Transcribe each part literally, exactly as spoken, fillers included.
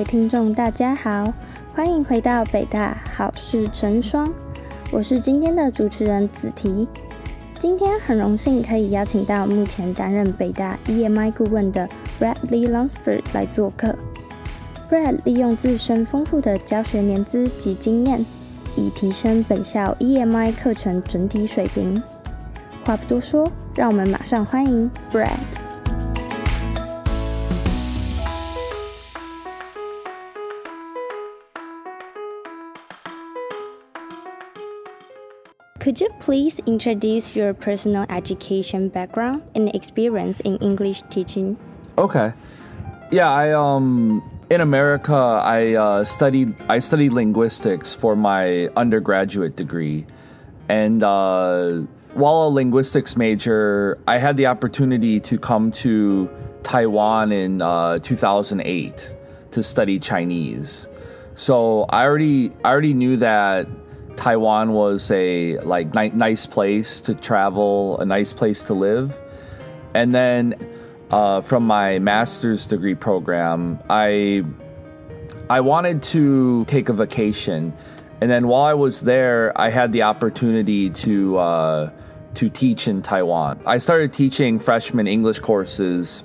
位听众大家好，欢迎回到北大好事成双，我是今天的主持人子提。今天很荣幸可以邀请到目前担任北大 E M I 顾问的 Bradley Lunsford 来做客。Brad 利用自身丰富的教学年资及经验，以提升本校 E M I 课程整体水平。话不多说，让我们马上欢迎 Brad。Could you please introduce your personal education background and experience in English teaching? Okay. Yeah, I um in America I uh, studied I studied linguistics for my undergraduate degree, and uh, while a linguistics major, I had the opportunity to come to Taiwan in uh, two thousand eight to study Chinese. So I already I already knew that Taiwan was a like ni- nice place to travel, a nice place to live. And then uh, from my master's degree program, I I wanted to take a vacation. And then while I was there, I had the opportunity to uh, to teach in Taiwan. I started teaching freshman English courses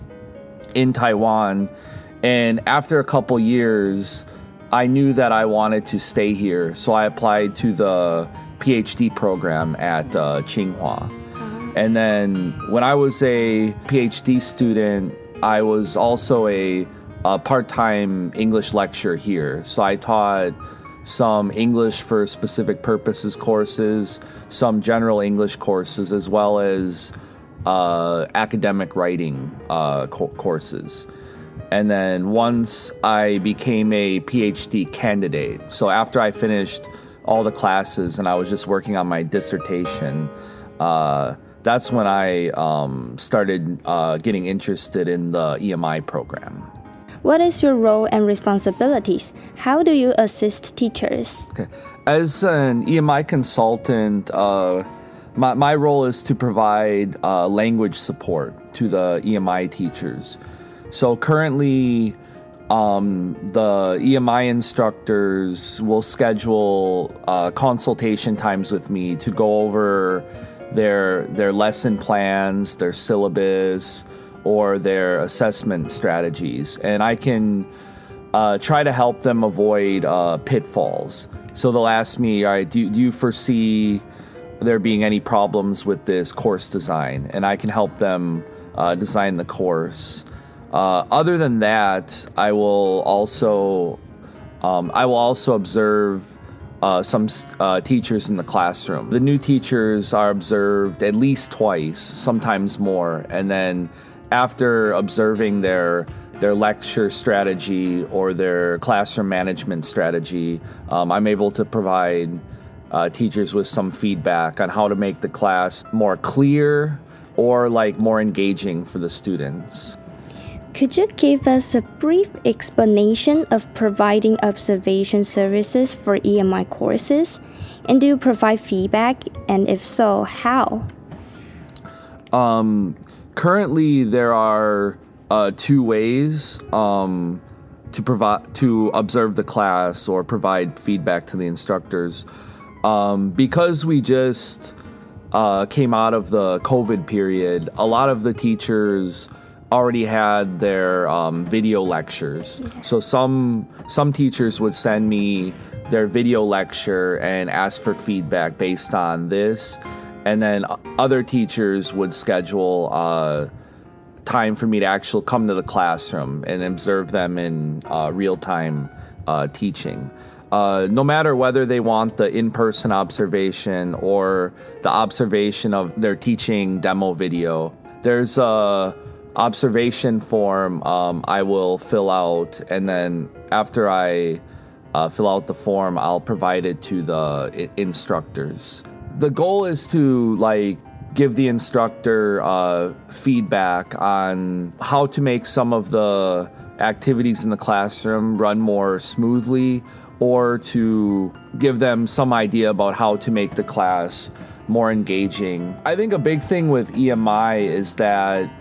in Taiwan, and after a couple years, I knew that I wanted to stay here, so I applied to the PhD program at uh, Tsinghua. And then when I was a PhD student, I was also a, a part-time English lecturer here. So I taught some English for specific purposes courses, some general English courses, as well as uh, academic writing uh, co- courses. And then once I became a PhD candidate, so after I finished all the classes and I was just working on my dissertation, uh, that's when I um, started uh, getting interested in the E M I program. What is your role and responsibilities? How do you assist teachers? Okay. As an E M I consultant, uh, my, my role is to provide uh, language support to the E M I teachers. So currently, um, the E M I instructors will schedule uh, consultation times with me to go over their their lesson plans, their syllabus, or their assessment strategies. And I can uh, try to help them avoid uh, pitfalls. So they'll ask me, all right, do, do you foresee there being any problems with this course design? And I can help them uh, design the course. Uh, other than that, I will also um, I will also observe uh, some uh, teachers in the classroom. The new teachers are observed at least twice, sometimes more, and then after observing their their lecture strategy or their classroom management strategy, um, I'm able to provide uh, teachers with some feedback on how to make the class more clear or like more engaging for the students. Could you give us a brief explanation of providing observation services for E M I courses? And do you provide feedback? And if so, how? Um, currently, there are uh, two ways um, to provide to observe the class or provide feedback to the instructors. Um, because we just uh, came out of the COVID period, a lot of the teachers already had their um, video lectures. Yeah. So some some teachers would send me their video lecture and ask for feedback based on this. And then other teachers would schedule uh, time for me to actually come to the classroom and observe them in uh, real-time uh, teaching. Uh, no matter whether they want the in-person observation or the observation of their teaching demo video, there's a observation form um, I will fill out, and then after I uh, fill out the form, I'll provide it to the I- instructors. The goal is to like give the instructor uh, feedback on how to make some of the activities in the classroom run more smoothly, or to give them some idea about how to make the class more engaging. I think a big thing with E M I is that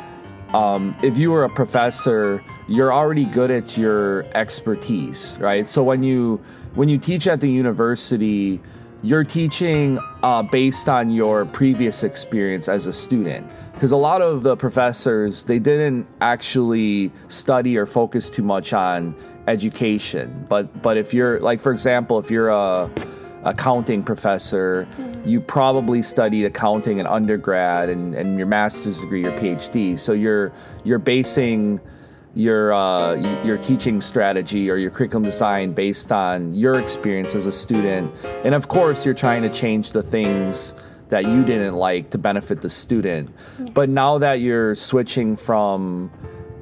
um, if you were a professor, you're already good at your expertise, right? So when you when you teach at the university, you're teaching uh, based on your previous experience as a student. Because a lot of the professors, they didn't actually study or focus too much on education. But but if you're, like, for example, if you're a accounting professor, you probably studied accounting in undergrad and, and your master's degree, your PhD. So you're you're basing your uh, your teaching strategy or your curriculum design based on your experience as a student. And of course, you're trying to change the things that you didn't like to benefit the student. Yeah. But now that you're switching from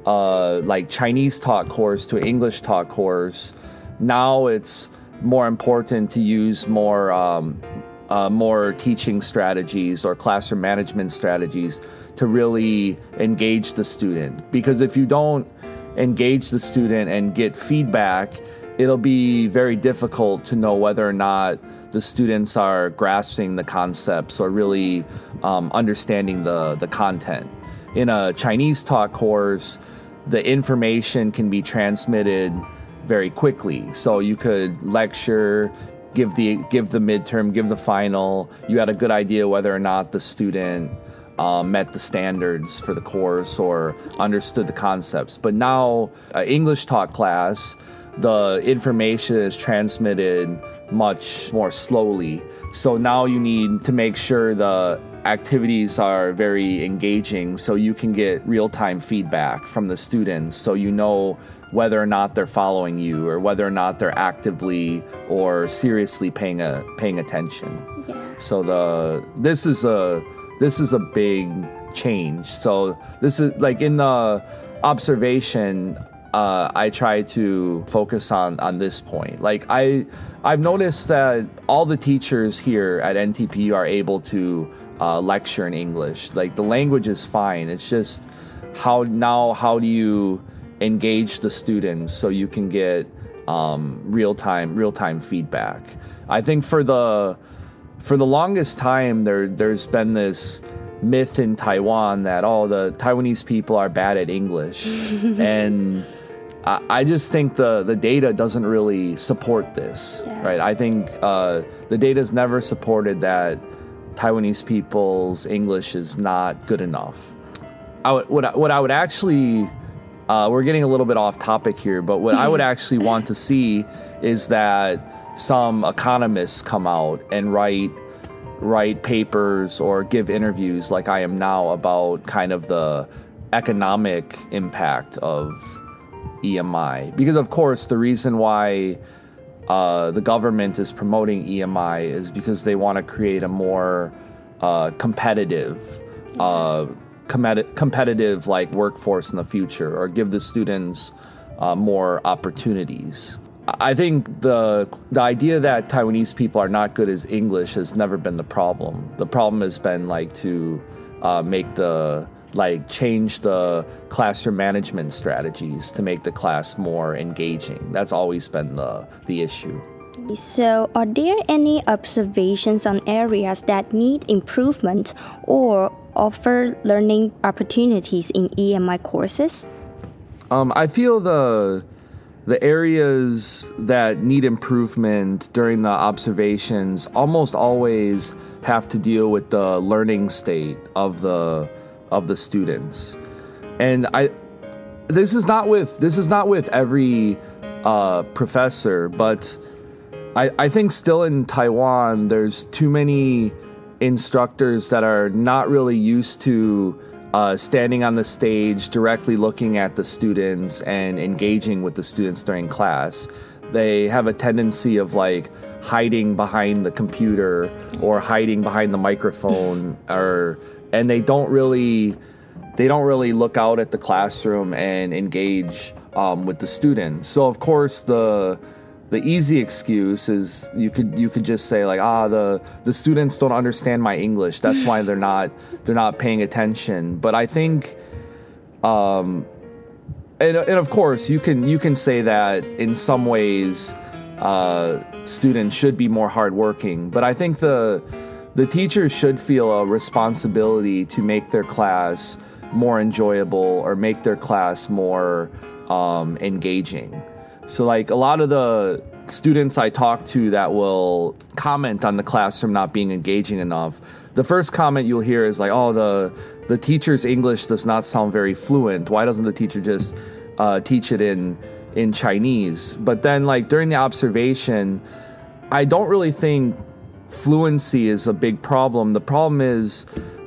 uh, like Chinese taught course to English taught course, now it's more important to use more um, uh, more teaching strategies or classroom management strategies to really engage the student. Because if you don't engage the student and get feedback, it'll be very difficult to know whether or not the students are grasping the concepts or really um, understanding the, the content. In a Chinese taught course, the information can be transmitted very quickly. So you could lecture, give the give the midterm, give the final. You had a good idea whether or not the student um, met the standards for the course or understood the concepts. But now, uh, English taught class, the information is transmitted much more slowly. So now you need to make sure the activities are very engaging so you can get real-time feedback from the students, so you know whether or not they're following you or whether or not they're actively or seriously paying a paying attention. Yeah. So the this is a this is a big change. So this is like in the observation, uh, I try to focus on on this point. Like I I've noticed that all the teachers here at N T P U are able to uh, lecture in English. Like the language is fine. It's just how now how do you engage the students so you can get um, real-time real-time feedback. I think for the for the longest time there there's been this myth in Taiwan that oh the Taiwanese people are bad at English. And I, I just think the the data doesn't really support this. Yeah. Right? I think uh, the data's never supported that Taiwanese people's English is not good enough. I would, what I, what I would actually Uh, we're getting a little bit off topic here, but what I would actually want to see is that some economists come out and write write papers or give interviews like I am now about kind of the economic impact of E M I. Because of course the reason why uh, the government is promoting E M I is because they want to create a more uh, competitive uh competitive like workforce in the future, or give the students uh, more opportunities. I think the the idea that Taiwanese people are not good at English has never been the problem. The problem has been like to uh, make the like change the classroom management strategies to make the class more engaging. That's always been the the issue. So, are there any observations on areas that need improvement or offer learning opportunities in E M I courses? Um, I feel the the areas that need improvement during the observations almost always have to deal with the learning state of the of the students, and I this is not with this is not with every uh, professor, but I, I think still in Taiwan, there's too many instructors that are not really used to uh, standing on the stage, directly looking at the students and engaging with the students during class. They have a tendency of like hiding behind the computer or hiding behind the microphone, or and they don't really they don't really look out at the classroom and engage um, with the students. So of course the The easy excuse is you could you could just say like ah the the students don't understand my English, that's why they're not they're not paying attention. But I think um and, and of course you can you can say that in some ways uh, students should be more hardworking, but I think the the teachers should feel a responsibility to make their class more enjoyable or make their class more um, engaging. So like a lot of the students I talk to that will comment on the classroom not being engaging enough, the first comment you'll hear is like, oh, the the teacher's English does not sound very fluent. Why doesn't the teacher just uh, teach it in in Chinese? But then like during the observation, I don't really think fluency is a big problem. The problem is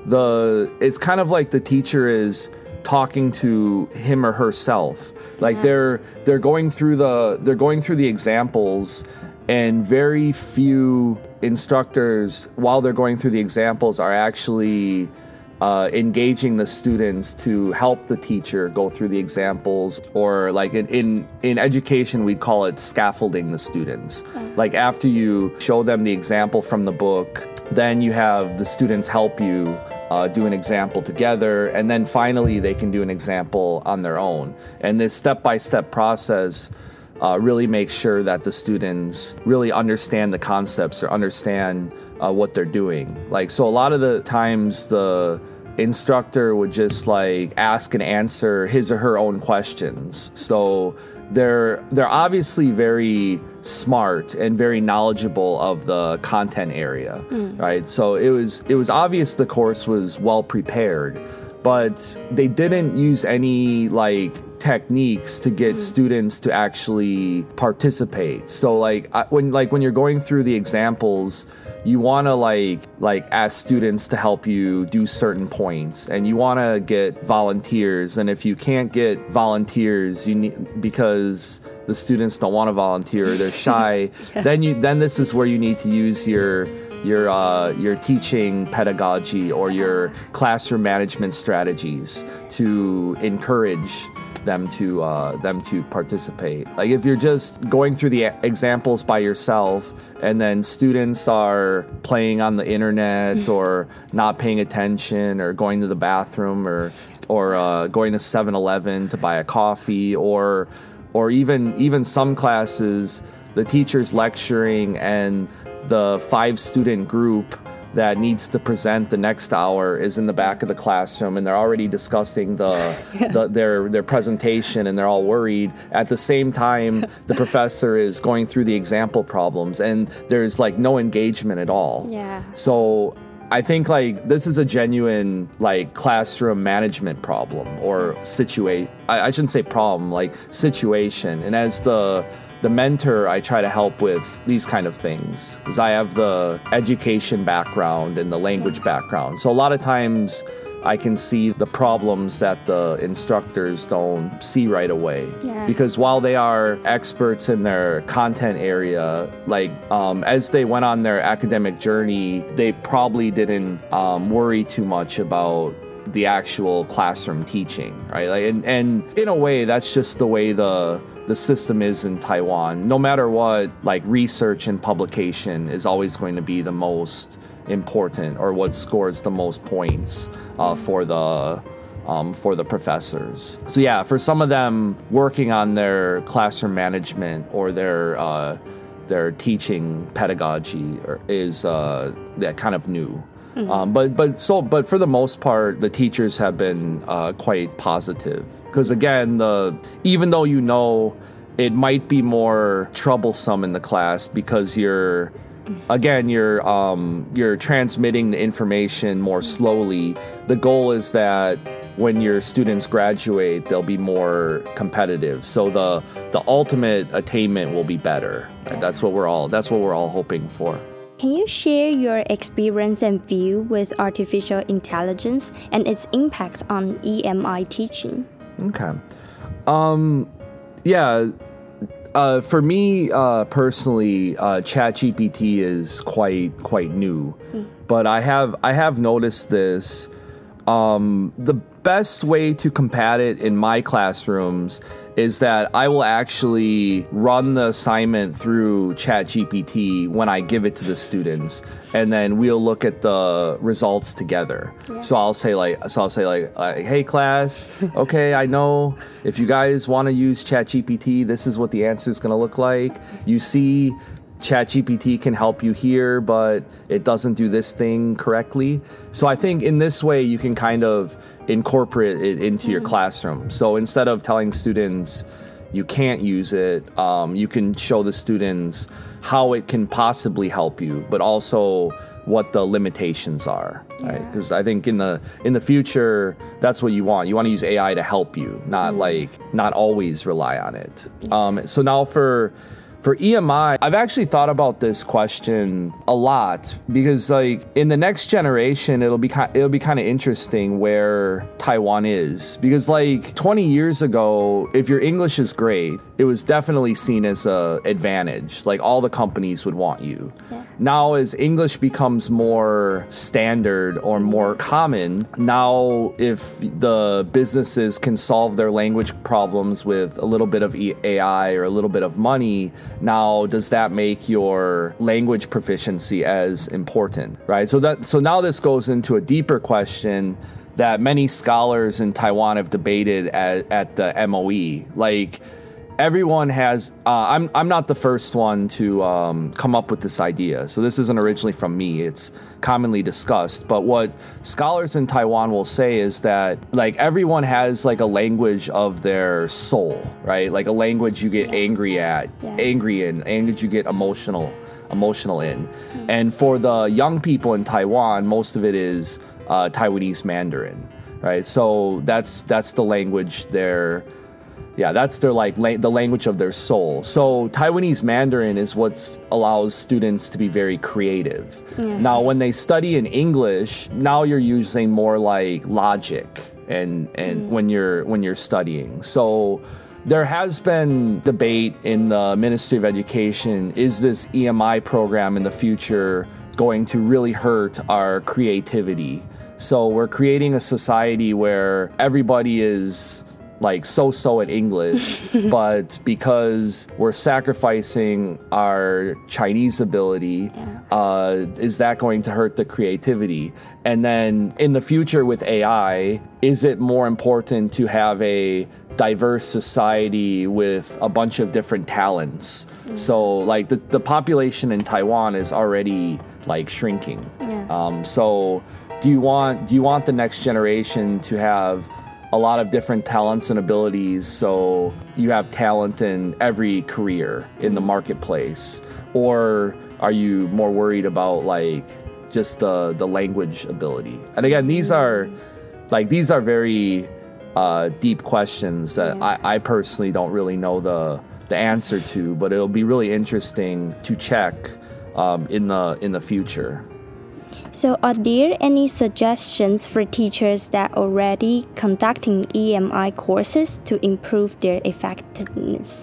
the it's kind of like the teacher is talking to him or herself. Like yeah. they're they're going through the they're going through the examples, and very few instructors, while they're going through the examples, are actually uh, engaging the students to help the teacher go through the examples, or like in, in, in education, we'd call it scaffolding the students. Oh. Like after you show them the example from the book, then you have the students help you uh, do an example together, and then finally they can do an example on their own. And this step-by-step process Uh, really make sure that the students really understand the concepts or understand uh, what they're doing. Like, so a lot of the times the instructor would just like ask and answer his or her own questions. So they're they're obviously very smart and very knowledgeable of the content area, mm. right? So it was it was obvious the course was well prepared, but they didn't use any like techniques to get mm. students to actually participate. So like I, when like when you're going through the examples, you want to like like ask students to help you do certain points, and you want to get volunteers. And if you can't get volunteers, you need because the students don't want to volunteer or they're shy, yeah. then you then this is where you need to use your your uh, your teaching pedagogy or your classroom management strategies to encourage them to uh, them to participate. Like if you're just going through the examples by yourself, and then students are playing on the internet or not paying attention or going to the bathroom or or uh, going to seven eleven to buy a coffee, or or even even some classes the teacher's lecturing and the five student group that needs to present the next hour is in the back of the classroom, and they're already discussing the, yeah. the their their presentation, and they're all worried. At the same time, the professor is going through the example problems, and there's like no engagement at all. Yeah. So I think like this is a genuine like classroom management problem or situate. I, I shouldn't say problem, like situation. And as the The mentor, I try to help with these kind of things because I have the education background and the language background. So a lot of times I can see the problems that the instructors don't see right away. Yeah. Because while they are experts in their content area, like um, as they went on their academic journey, they probably didn't um, worry too much about the actual classroom teaching, right? Like, and, and in a way, that's just the way the the system is in Taiwan. No matter what, like research and publication is always going to be the most important, or what scores the most points uh, for the um, for the professors. So yeah, for some of them, working on their classroom management or their uh, their teaching pedagogy is uh, yeah, kind of new. Mm-hmm. Um, but but so but for the most part, the teachers have been uh, quite positive, because again, the even though you know it might be more troublesome in the class because you're again you're um, you're transmitting the information more slowly. The goal is that when your students graduate, they'll be more competitive. So the the ultimate attainment will be better. Right? That's what we're all that's what we're all hoping for. Can you share your experience and view with artificial intelligence and its impact on E M I teaching? Okay. Um, yeah. Uh, for me uh, personally, uh, ChatGPT is quite quite new, mm. but I have I have noticed this. Um, the best way to combat it in my classrooms is that I will actually run the assignment through ChatGPT when I give it to the students, and then we'll look at the results together. Yeah. So I'll say like, so I'll say like, uh, hey class, okay, I know if you guys want to use ChatGPT, this is what the answer is going to look like. You see ChatGPT can help you here, but it doesn't do this thing correctly. So I think in this way, you can kind of incorporate it into mm-hmm. your classroom. So instead of telling students you can't use it, um, you can show the students how it can possibly help you, but also what the limitations are, yeah. right? Because I think in the in the future, that's what you want. You want to use A I to help you, not mm. like not always rely on it. Yeah. Um, so now for For E M I, I've actually thought about this question a lot because, like, in the next generation, it'll be kind, it'll be kind of interesting where Taiwan is, because, like, twenty years ago, if your English is great, it was definitely seen as a advantage. Like, all the companies would want you. Yeah. Now, as English becomes more standard or more common, now if the businesses can solve their language problems with a little bit of A I or a little bit of money, now does that make your language proficiency as important, right? So that so now this goes into a deeper question that many scholars in Taiwan have debated at, at the M O E. Like, everyone has, uh, I'm I'm not the first one to um, come up with this idea. So this isn't originally from me. It's commonly discussed. But what scholars in Taiwan will say is that, like, everyone has, like, a language of their soul, right? Like a language you get angry at, yeah. angry in, language you get emotional, emotional in. Mm-hmm. And for the young people in Taiwan, most of it is uh, Taiwanese Mandarin, right? So that's that's the language they're Yeah, that's their like la- the language of their soul. So Taiwanese Mandarin is what allows students to be very creative. Yeah. Now, when they study in English, now you're using more like logic and and mm. when you're when you're studying. So there has been debate in the Ministry of Education, is this E M I program in the future going to really hurt our creativity? So we're creating a society where everybody is like so-so at English, but because we're sacrificing our Chinese ability, yeah. uh, is that going to hurt the creativity? And then in the future with A I, is it more important to have a diverse society with a bunch of different talents? Mm-hmm. So like the, the population in Taiwan is already like shrinking. Yeah. Um, so do you want do you want the next generation to have a lot of different talents and abilities, so you have talent in every career in the marketplace? Or are you more worried about like just the the language ability? And again, these are like these are very uh, deep questions that yeah. I, I personally don't really know the the answer to, but it'll be really interesting to check um, in the in the future. So are there any suggestions for teachers that are already conducting E M I courses to improve their effectiveness?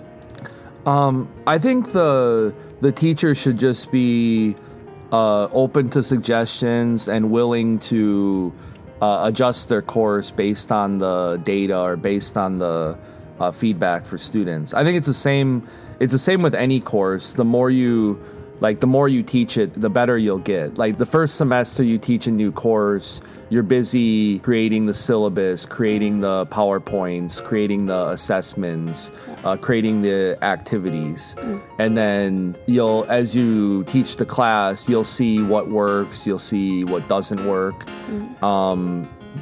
Um, I think the the teacher should just be uh, open to suggestions and willing to uh, adjust their course based on the data or based on the uh, feedback for students. I think it's the same. It's the same with any course. The more you Like, the more you teach it, the better you'll get. Like, the first semester you teach a new course, you're busy creating the syllabus, creating the PowerPoints, creating the assessments, uh, creating the activities. Mm. And then you'll, as you teach the class, you'll see what works, you'll see what doesn't work. Mm. Um,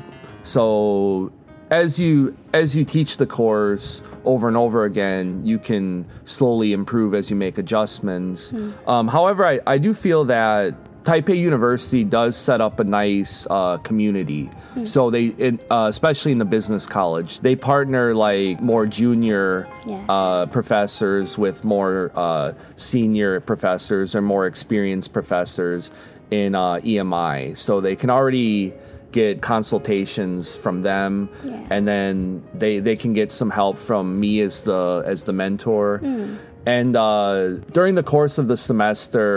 so as you as you teach the course over and over again, you can slowly improve as you make adjustments. Mm. Um, however, I, I do feel that Taipei University does set up a nice uh, community. Mm. So they, it, uh, especially in the business college, they partner like more junior yeah. uh, professors with more uh, senior professors or more experienced professors in uh, E M I. So they can already get consultations from them, yeah. and then they they can get some help from me as the as the mentor. Mm. And uh, during the course of the semester,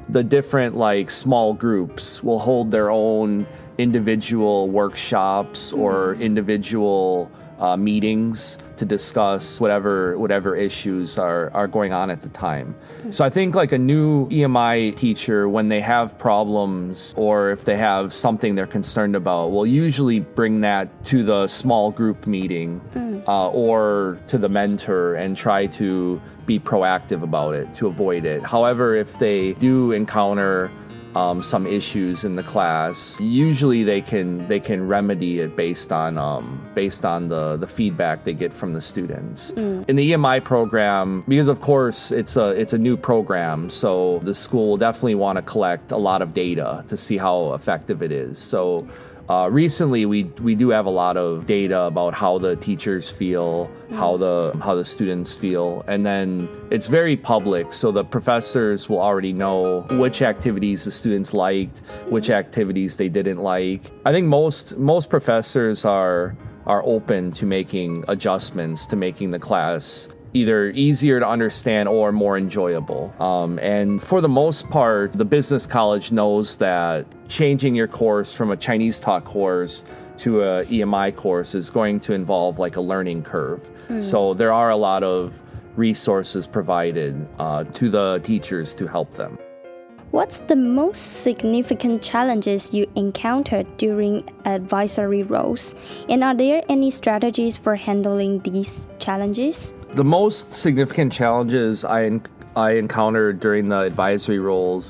the different like small groups will hold their own individual workshops or individual uh, meetings to discuss whatever whatever issues are, are going on at the time. So I think like a new E M I teacher, when they have problems or if they have something they're concerned about, will usually bring that to the small group meeting uh, or to the mentor and try to be proactive about it to avoid it. However, if they do encounter Um, some issues in the class, usually they can they can remedy it based on um, based on the, the feedback they get from the students. Mm. In the E M I program, because of course it's a it's a new program, so the school will definitely want to collect a lot of data to see how effective it is. So Uh, recently, we we do have a lot of data about how the teachers feel, how the how the students feel, and then it's very public. So the professors will already know which activities the students liked, which activities they didn't like. I think most most professors are are open to making adjustments to making the class either easier to understand or more enjoyable. Um, and for the most part, the business college knows that changing your course from a Chinese taught course to a E M I course is going to involve like a learning curve. Mm. So there are a lot of resources provided uh, to the teachers to help them. What's the most significant challenges you encountered during advisory roles? And are there any strategies for handling these challenges? The most significant challenges I en- I encountered during the advisory roles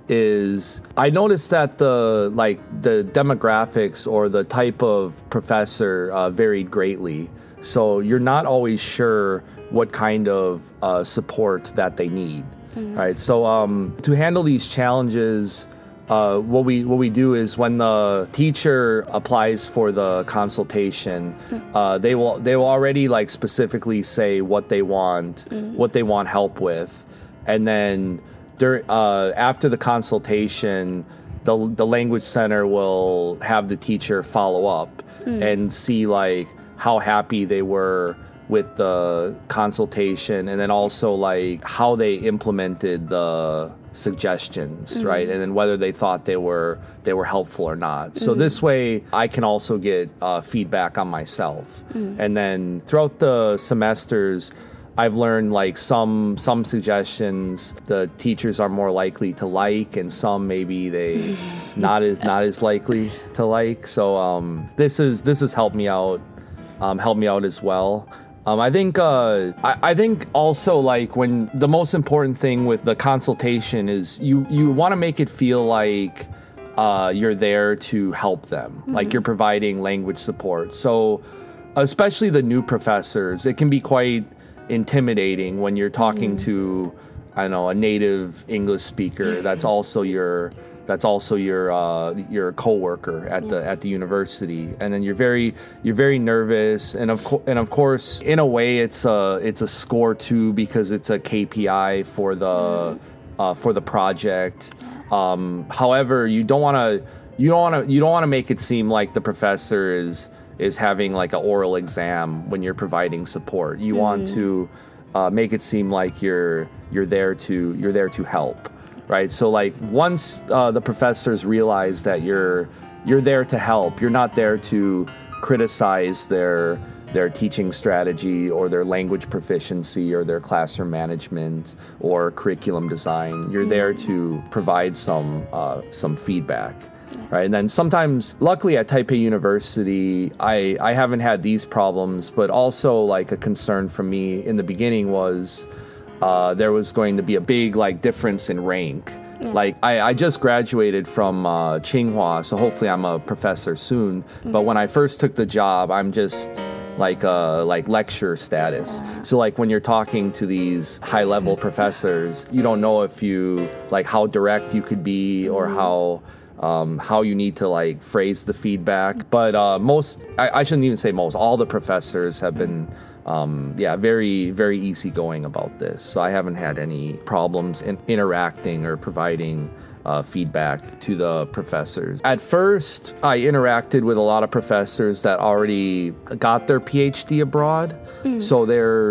is I noticed that the like the demographics or the type of professor uh, varied greatly. So you're not always sure what kind of uh, support that they need. Mm-hmm. Right. So um, to handle these challenges, uh, what we what we do is when the teacher applies for the consultation, uh, they will they will already like specifically say what they want, mm-hmm. what they want help with, and then there uh, after the consultation, the the language center will have the teacher follow up mm-hmm. and see like how happy they were with the consultation, and then also like how they implemented the suggestions, mm-hmm. right? And then whether they thought they were they were helpful or not. Mm-hmm. So this way I can also get uh, feedback on myself. Mm-hmm. And then throughout the semesters, I've learned like some some suggestions the teachers are more likely to like, and some maybe they not as not as likely to like. So um, this is this has helped me out, um, helped me out as well. Um, I think uh, I, I think also like when the most important thing with the consultation is you you want to make it feel like uh, you're there to help them, mm-hmm. like you're providing language support. So especially the new professors, it can be quite intimidating when you're talking mm-hmm. to I don't know a native English speaker that's also your that's also your uh, your coworker at yeah. the at the university, and then you're very you're very nervous, and of co- and of course in a way it's a it's a score too, because it's a K P I for the mm. uh, for the project. Um, however, you don't want to you don't want to you don't want to make it seem like the professor is is having like an oral exam when you're providing support. You mm. want to uh, make it seem like you're you're there to you're there to help. Right, so like once uh, the professors realize that you're you're there to help, you're not there to criticize their their teaching strategy or their language proficiency or their classroom management or curriculum design. You're there to provide some uh, some feedback, right? And then sometimes, luckily at Taipei University, I I haven't had these problems, but also like a concern from me in the beginning was. Uh, there was going to be a big like difference in rank. Yeah. Like I, I just graduated from uh, Tsinghua, so hopefully I'm a professor soon. Mm-hmm. But when I first took the job, I'm just like uh, like lecturer status. Yeah. So like when you're talking to these high level professors, you don't know if you like how direct you could be or mm-hmm. how. Um, how you need to like phrase the feedback. But uh, most, I, I shouldn't even say most, all the professors have been, um, yeah, very, very easygoing about this. So I haven't had any problems in interacting or providing uh, feedback to the professors. At first, I interacted with a lot of professors that already got their PhD abroad. Mm. So they're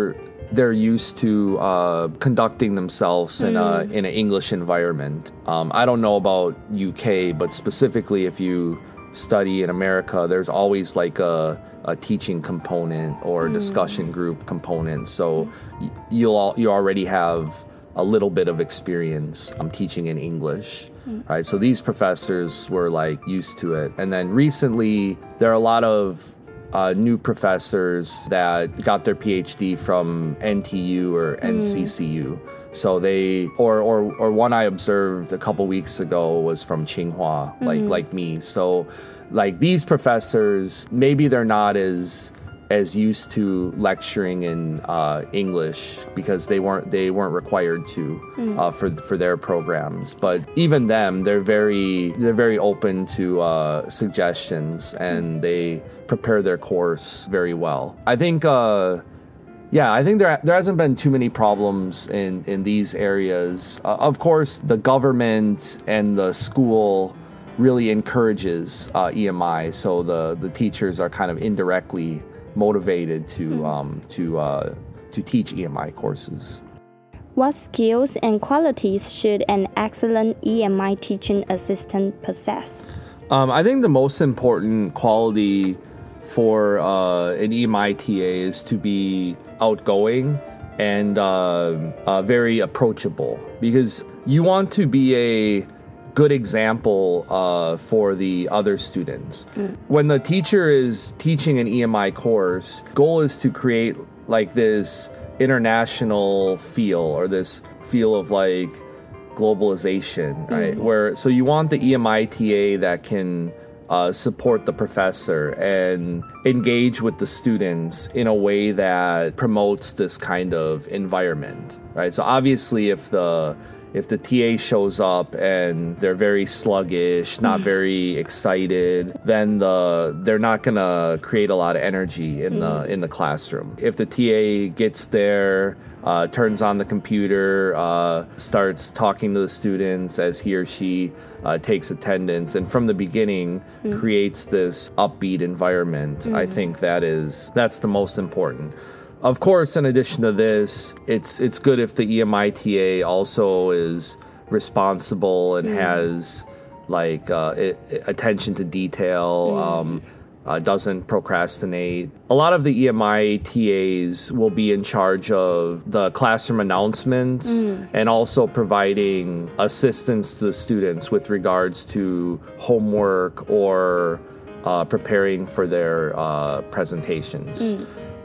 they're used to uh, conducting themselves in a in an English environment. Um, I don't know about U K, but specifically if you study in America, there's always like a a teaching component or a discussion group component. So y- you'll all, you already have a little bit of experience um, teaching in English, mm. right? So these professors were like used to it. And then recently, there are a lot of uh, new professors that got their PhD from N T U or N C C U. Mm. So they, or, or or one I observed a couple weeks ago was from Tsinghua, like mm-hmm. like me. So like these professors, maybe they're not as as used to lecturing in uh, English because they weren't they weren't required to mm. uh, for for their programs. But even them, they're very they're very open to uh, suggestions and mm. they prepare their course very well. I think. Uh, Yeah, I think there there hasn't been too many problems in, in these areas. Uh, of course, the government and the school really encourages uh, E M I, so the, the teachers are kind of indirectly motivated to mm. um, to uh, to teach E M I courses. What skills and qualities should an excellent E M I teaching assistant possess? Um, I think the most important quality for uh, an E M I T A is to be outgoing and uh, uh, very approachable, because you want to be a good example uh, for the other students. Mm. When the teacher is teaching an E M I course, goal is to create like this international feel or this feel of like globalization, right? Mm. Where so you want the E M I T A that can Uh, support the professor and engage with the students in a way that promotes this kind of environment, right? So obviously if the if the T A shows up and they're very sluggish, not very excited, then the they're not gonna create a lot of energy in the in the classroom. If the T A gets there, uh, turns on the computer, uh, starts talking to the students as he or she uh, takes attendance, and from the beginning mm. creates this upbeat environment, mm. I think that is that's the most important. Of course, in addition to this, it's it's good if the E M I T A also is responsible and mm. has like uh, it, attention to detail, mm. um, uh, doesn't procrastinate. A lot of the E M I T As will be in charge of the classroom announcements mm. and also providing assistance to the students with regards to homework or uh, preparing for their uh, presentations. Mm.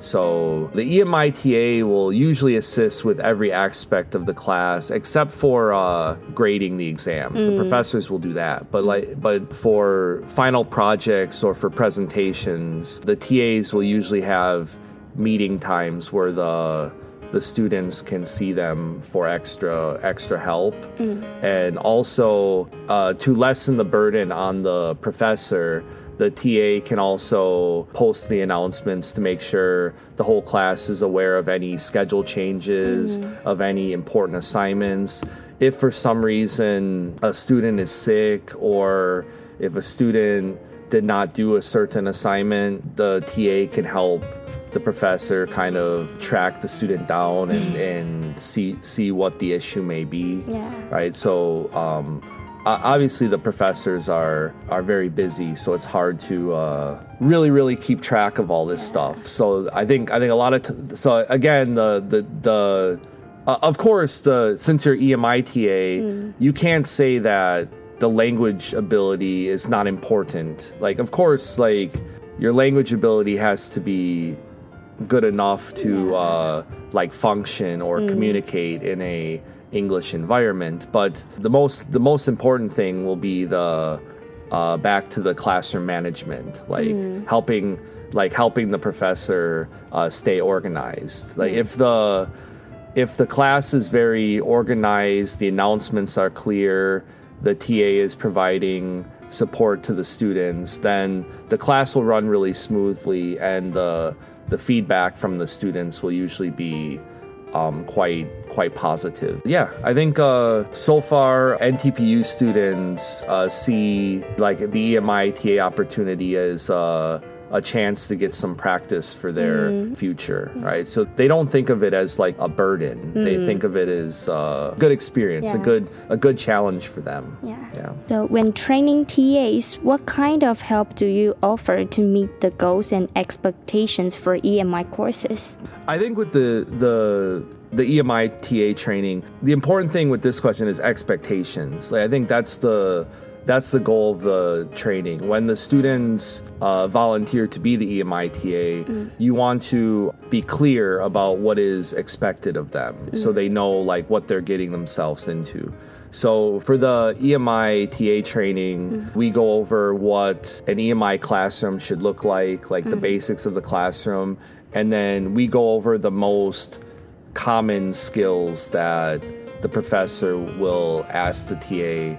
So the E M I T A will usually assist with every aspect of the class except for uh, grading the exams. Mm. The professors will do that, but like, but for final projects or for presentations, the T As will usually have meeting times where the the students can see them for extra extra help, mm. and also uh, to lessen the burden on the professor. The T A can also post the announcements to make sure the whole class is aware of any schedule changes, mm. of any important assignments. If for some reason a student is sick or if a student did not do a certain assignment, the T A can help the professor kind of track the student down and, and see see what the issue may be. Yeah. Right. So um obviously, the professors are are very busy, so it's hard to uh, really, really keep track of all this yeah. stuff. So I think I think a lot of t- so again the the the uh, of course the since you're E M I T A, mm. you can't say that the language ability is not important. Like of course, like your language ability has to be good enough to yeah. uh, like function or mm. communicate in a English environment, but the most the most important thing will be the uh, back to the classroom management, like mm. helping like helping the professor uh, stay organized. Like mm. if the if the class is very organized, the announcements are clear, the T A is providing support to the students, then the class will run really smoothly, and the the feedback from the students will usually be Um, quite quite positive. Yeah, I think uh, so far N T P U students uh, see like the E M I T A opportunity as uh, a chance to get some practice for their mm. future, right? So they don't think of it as like a burden. Mm. They think of it as a good experience, yeah. a good a good challenge for them. Yeah. yeah. So when training T As, what kind of help do you offer to meet the goals and expectations for E M I courses? I think with the the the E M I T A training, the important thing with this question is expectations. Like I think that's the That's the goal of the training. When the students uh, volunteer to be the E M I T A, mm. you want to be clear about what is expected of them mm. so they know like what they're getting themselves into. So for the E M I T A training, mm. we go over what an E M I classroom should look like, like mm. the basics of the classroom, and then we go over the most common skills that the professor will ask the T A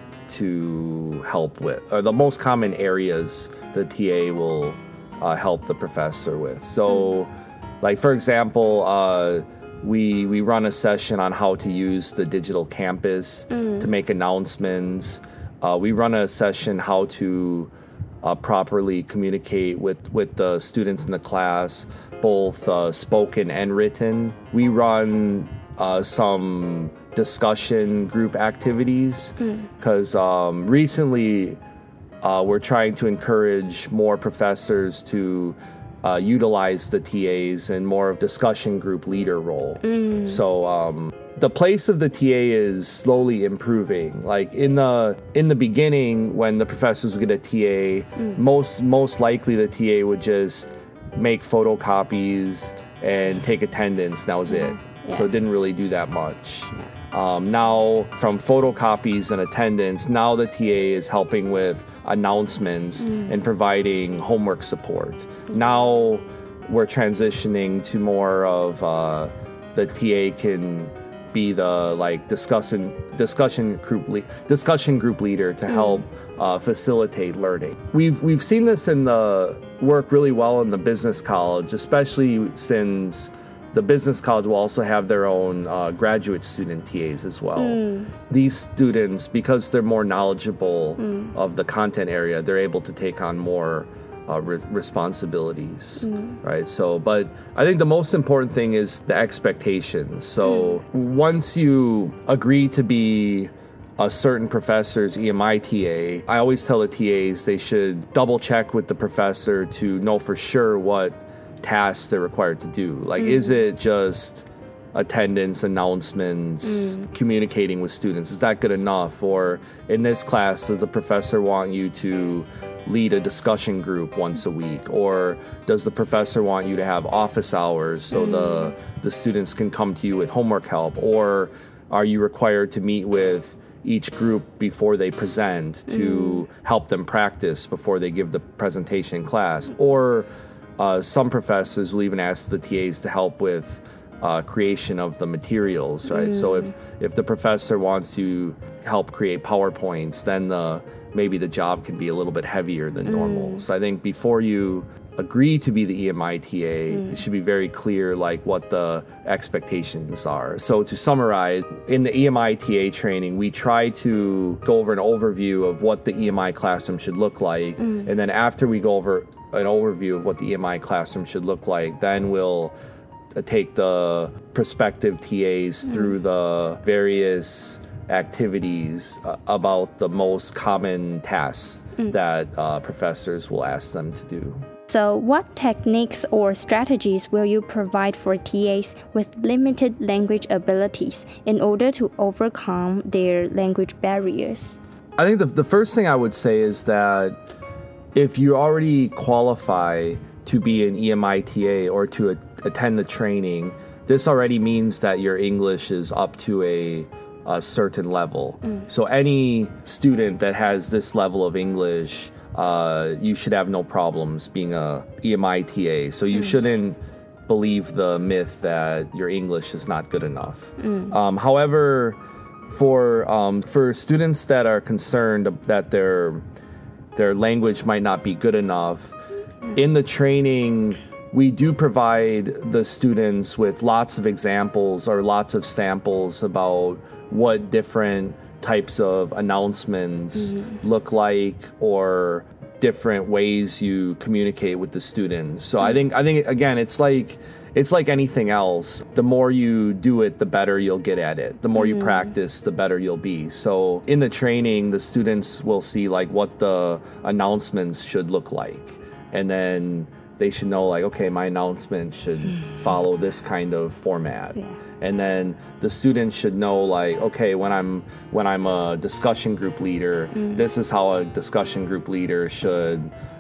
to help with, or the most common areas the T A will uh, help the professor with. So, mm. like for example, uh, we we run a session on how to use the digital campus mm. to make announcements. Uh, we run a session how to uh, properly communicate with with the students in the class, both uh, spoken and written. We run uh, some discussion group activities because mm. um, recently uh, we're trying to encourage more professors to uh, utilize the T As in more of discussion group leader role. Mm. So um, the place of the T A is slowly improving. Like in the in the beginning, when the professors would get a T A, mm. most most likely the T A would just make photocopies and take attendance. That was mm. it. Yeah. So it didn't really do that much. Yeah. Um, now, from photocopies and attendance, now the T A is helping with announcements mm. and providing homework support. Mm-hmm. Now we're transitioning to more of uh, the T A can be the like discussion discussion group le- discussion group leader to mm. help uh, facilitate learning. We've we've seen this in the work really well in the business college, especially since the business college will also have their own uh, graduate student T As as well. Mm. These students, because they're more knowledgeable mm. of the content area, they're able to take on more uh, re- responsibilities, mm. right? So, but I think the most important thing is the expectations. So mm. once you agree to be a certain professor's E M I T A, I always tell the T As they should double check with the professor to know for sure what tasks they're required to do. Like, mm. is it just attendance, announcements, mm. communicating with students? Is that good enough? Or in this class, does the professor want you to lead a discussion group once a week? Or does the professor want you to have office hours so mm. the the students can come to you with homework help? Or are you required to meet with each group before they present to mm. help them practice before they give the presentation in class? Or Uh, some professors will even ask the T As to help with uh, creation of the materials, right? Mm. So if, if the professor wants to help create PowerPoints, then the, maybe the job can be a little bit heavier than normal. Mm. So I think before you agree to be the E M I T A, mm. it should be very clear like what the expectations are. So to summarize, in the E M I T A training, we try to go over an overview of what the E M I classroom should look like. Mm. And then after we go over an overview of what the E M I classroom should look like, then we'll uh, take the prospective T As mm. through the various activities uh, about the most common tasks mm. that uh, professors will ask them to do. So what techniques or strategies will you provide for T As with limited language abilities in order to overcome their language barriers? I think the, the first thing I would say is that if you already qualify to be an E M I T A or to a, attend the training, this already means that your English is up to a, a certain level. Mm. So any student that has this level of English, uh, you should have no problems being a E M I T A. So you mm. shouldn't believe the myth that your English is not good enough. Mm. Um, however, for um, for students that are concerned that they're their language might not be good enough, in the training, we do provide the students with lots of examples or lots of samples about what different types of announcements mm-hmm. look like, or different ways you communicate with the students. So I think I think again, it's like it's like anything else. The more you do it, the better you'll get at it. The more mm-hmm. you practice, the better you'll be. So in the training, the students will see like what the announcements should look like, and then they should know like, okay, my announcement should follow this kind of format. Yeah. And then the students should know like, okay, when I'm when I'm a discussion group leader, mm. this is how a discussion group leader should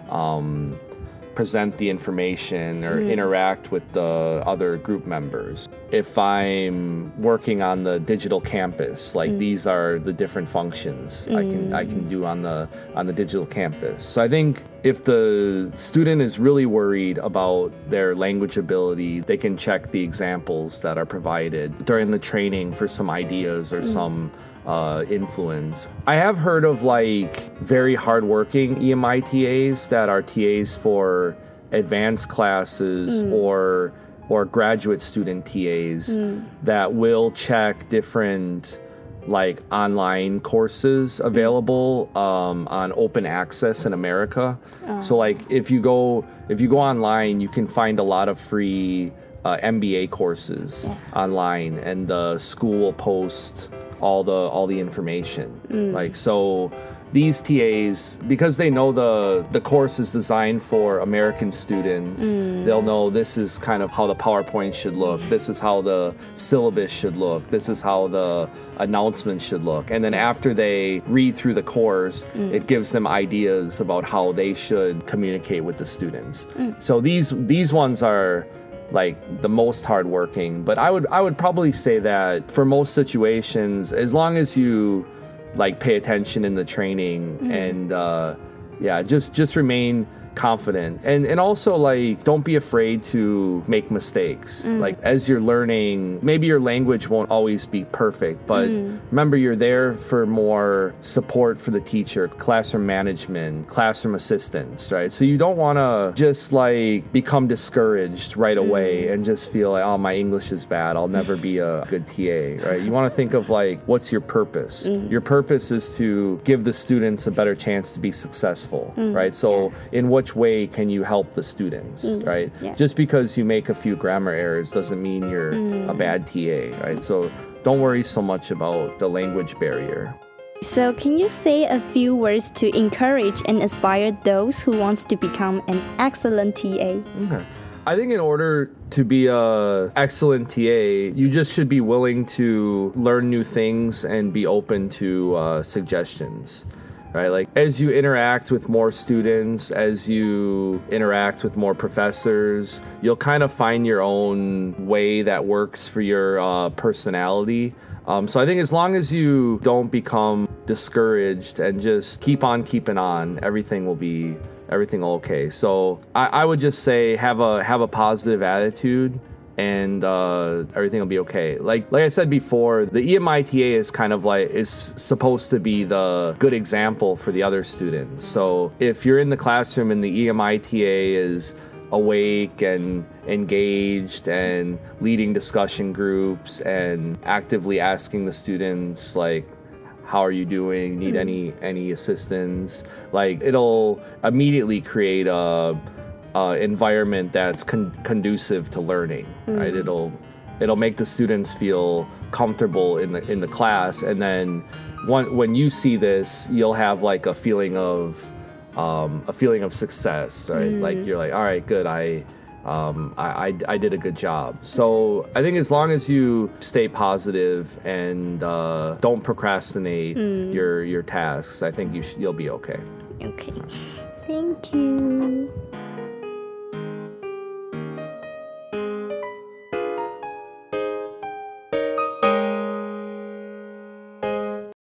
um, present the information or mm. interact with the other group members. If I'm working on the digital campus, like mm. these are the different functions mm. I can I can do on the on the digital campus. So I think if the student is really worried about their language ability, they can check the examples that are provided during the training for some ideas or mm. some uh, influence. I have heard of like very hardworking E M I T As that are T As for advanced classes mm. or or graduate student T As mm. that will check different like online courses available um, on open access in America. Oh. So like if you go if you go online, you can find a lot of free uh, M B A courses yeah. online, and the school will post all the all the information. Mm. Like so. These T As, because they know the, the course is designed for American students, mm. they'll know this is kind of how the PowerPoint should look. This is how the syllabus should look. This is how the announcements should look. And then after they read through the course, mm. it gives them ideas about how they should communicate with the students. Mm. So these these ones are like the most hardworking. But I would I would probably say that for most situations, as long as you like pay attention in the training mm. and uh yeah just just remain confident, and and also like don't be afraid to make mistakes. mm. Like as you're learning, maybe your language won't always be perfect, but mm. remember you're there for more support for the teacher, classroom management, classroom assistants, right? So you don't want to just like become discouraged right away mm. and just feel like, oh, my English is bad, I'll never be a good T A, right? You want to think of like, what's your purpose? mm. Your purpose is to give the students a better chance to be successful, mm. right? So yeah. in what way can you help the students, mm, right? Yeah. Just because you make a few grammar errors doesn't mean you're mm. a bad T A, right? So don't worry so much about the language barrier. So can you say a few words to encourage and inspire those who wants to become an excellent T A? Okay. I think in order to be a excellent T A, you just should be willing to learn new things and be open to uh, suggestions. Right? Like as you interact with more students, as you interact with more professors, you'll kind of find your own way that works for your uh, personality. Um, so I think as long as you don't become discouraged and just keep on keeping on, everything will be everything will okay. So I, I would just say have a have a positive attitude, and uh, everything will be okay. Like like I said before, the E M I T A is kind of like is supposed to be the good example for the other students. So if you're in the classroom and the E M I T A is awake and engaged and leading discussion groups and actively asking the students like, how are you doing? Need any any assistance? Like it'll immediately create a Uh, environment that's con- conducive to learning, mm. right? It'll it'll make the students feel comfortable in the in the class, and then one, when you see this, you'll have like a feeling of um, a feeling of success, right? Mm. Like you're like, all right, good, I, um, I, I I did a good job. So I think as long as you stay positive and uh, don't procrastinate mm. your your tasks, I think you sh- you'll be okay. Okay, thank you.